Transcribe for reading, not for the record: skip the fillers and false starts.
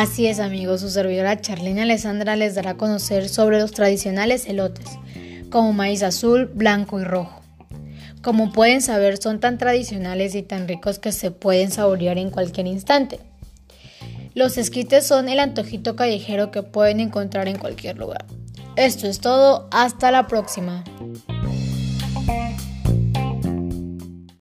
Así es, amigos, su servidora Charlene Alessandra les dará a conocer sobre los tradicionales elotes, como maíz azul, blanco y rojo. Como pueden saber, son tan tradicionales y tan ricos que se pueden saborear en cualquier instante. Los esquites son el antojito callejero que pueden encontrar en cualquier lugar. Esto es todo, hasta la próxima.